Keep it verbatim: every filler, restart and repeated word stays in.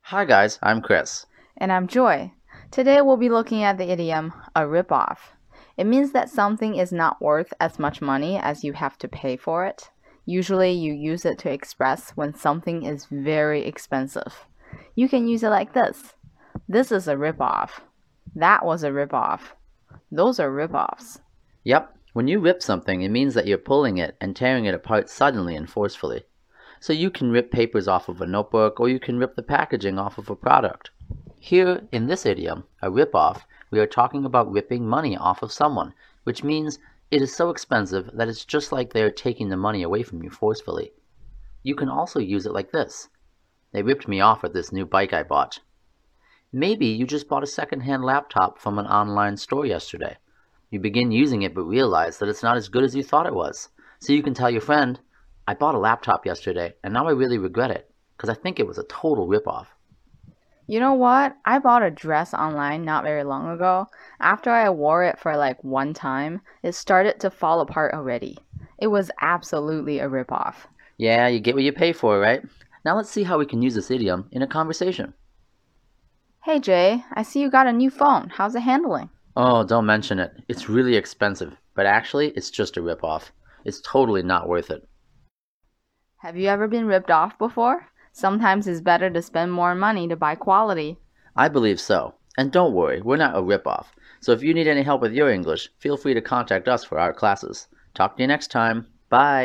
Hi guys, I'm Chris. And I'm Joy. Today we'll be looking at the idiom a ripoff. It means that something is not worth as much money as you have to pay for it. Usually you use it to express when something is very expensive. You can use it like this. This is a ripoff. That was a ripoff. Those are ripoffs. Yep, when you rip something, it means that you're pulling it and tearing it apart suddenly and forcefully. So you can rip papers off of a notebook, or you can rip the packaging off of a product. Here, in this idiom, a rip-off, we are talking about ripping money off of someone, which means it is so expensive that it's just like they are taking the money away from you forcefully. You can also use it like this. They ripped me off with this new bike I bought. Maybe you just bought a second-hand laptop from an online store yesterday. You begin using it but realize that it's not as good as you thought it was. So you can tell your friend, I bought a laptop yesterday and now I really regret it because I think it was a total ripoff. You know what? I bought a dress online not very long ago. After I wore it for like one time, it started to fall apart already. It was absolutely a ripoff. Yeah, you get what you pay for, right? Now let's see how we can use this idiom in a conversation. Hey Jay, I see you got a new phone. How's it handling? Oh, don't mention it. It's really expensive, but actually it's just a ripoff. It's totally not worth it. Have you ever been ripped off before? Sometimes it's better to spend more money to buy quality. I believe so. And don't worry, we're not a ripoff. So if you need any help with your English, feel free to contact us for our classes. Talk to you next time. Bye.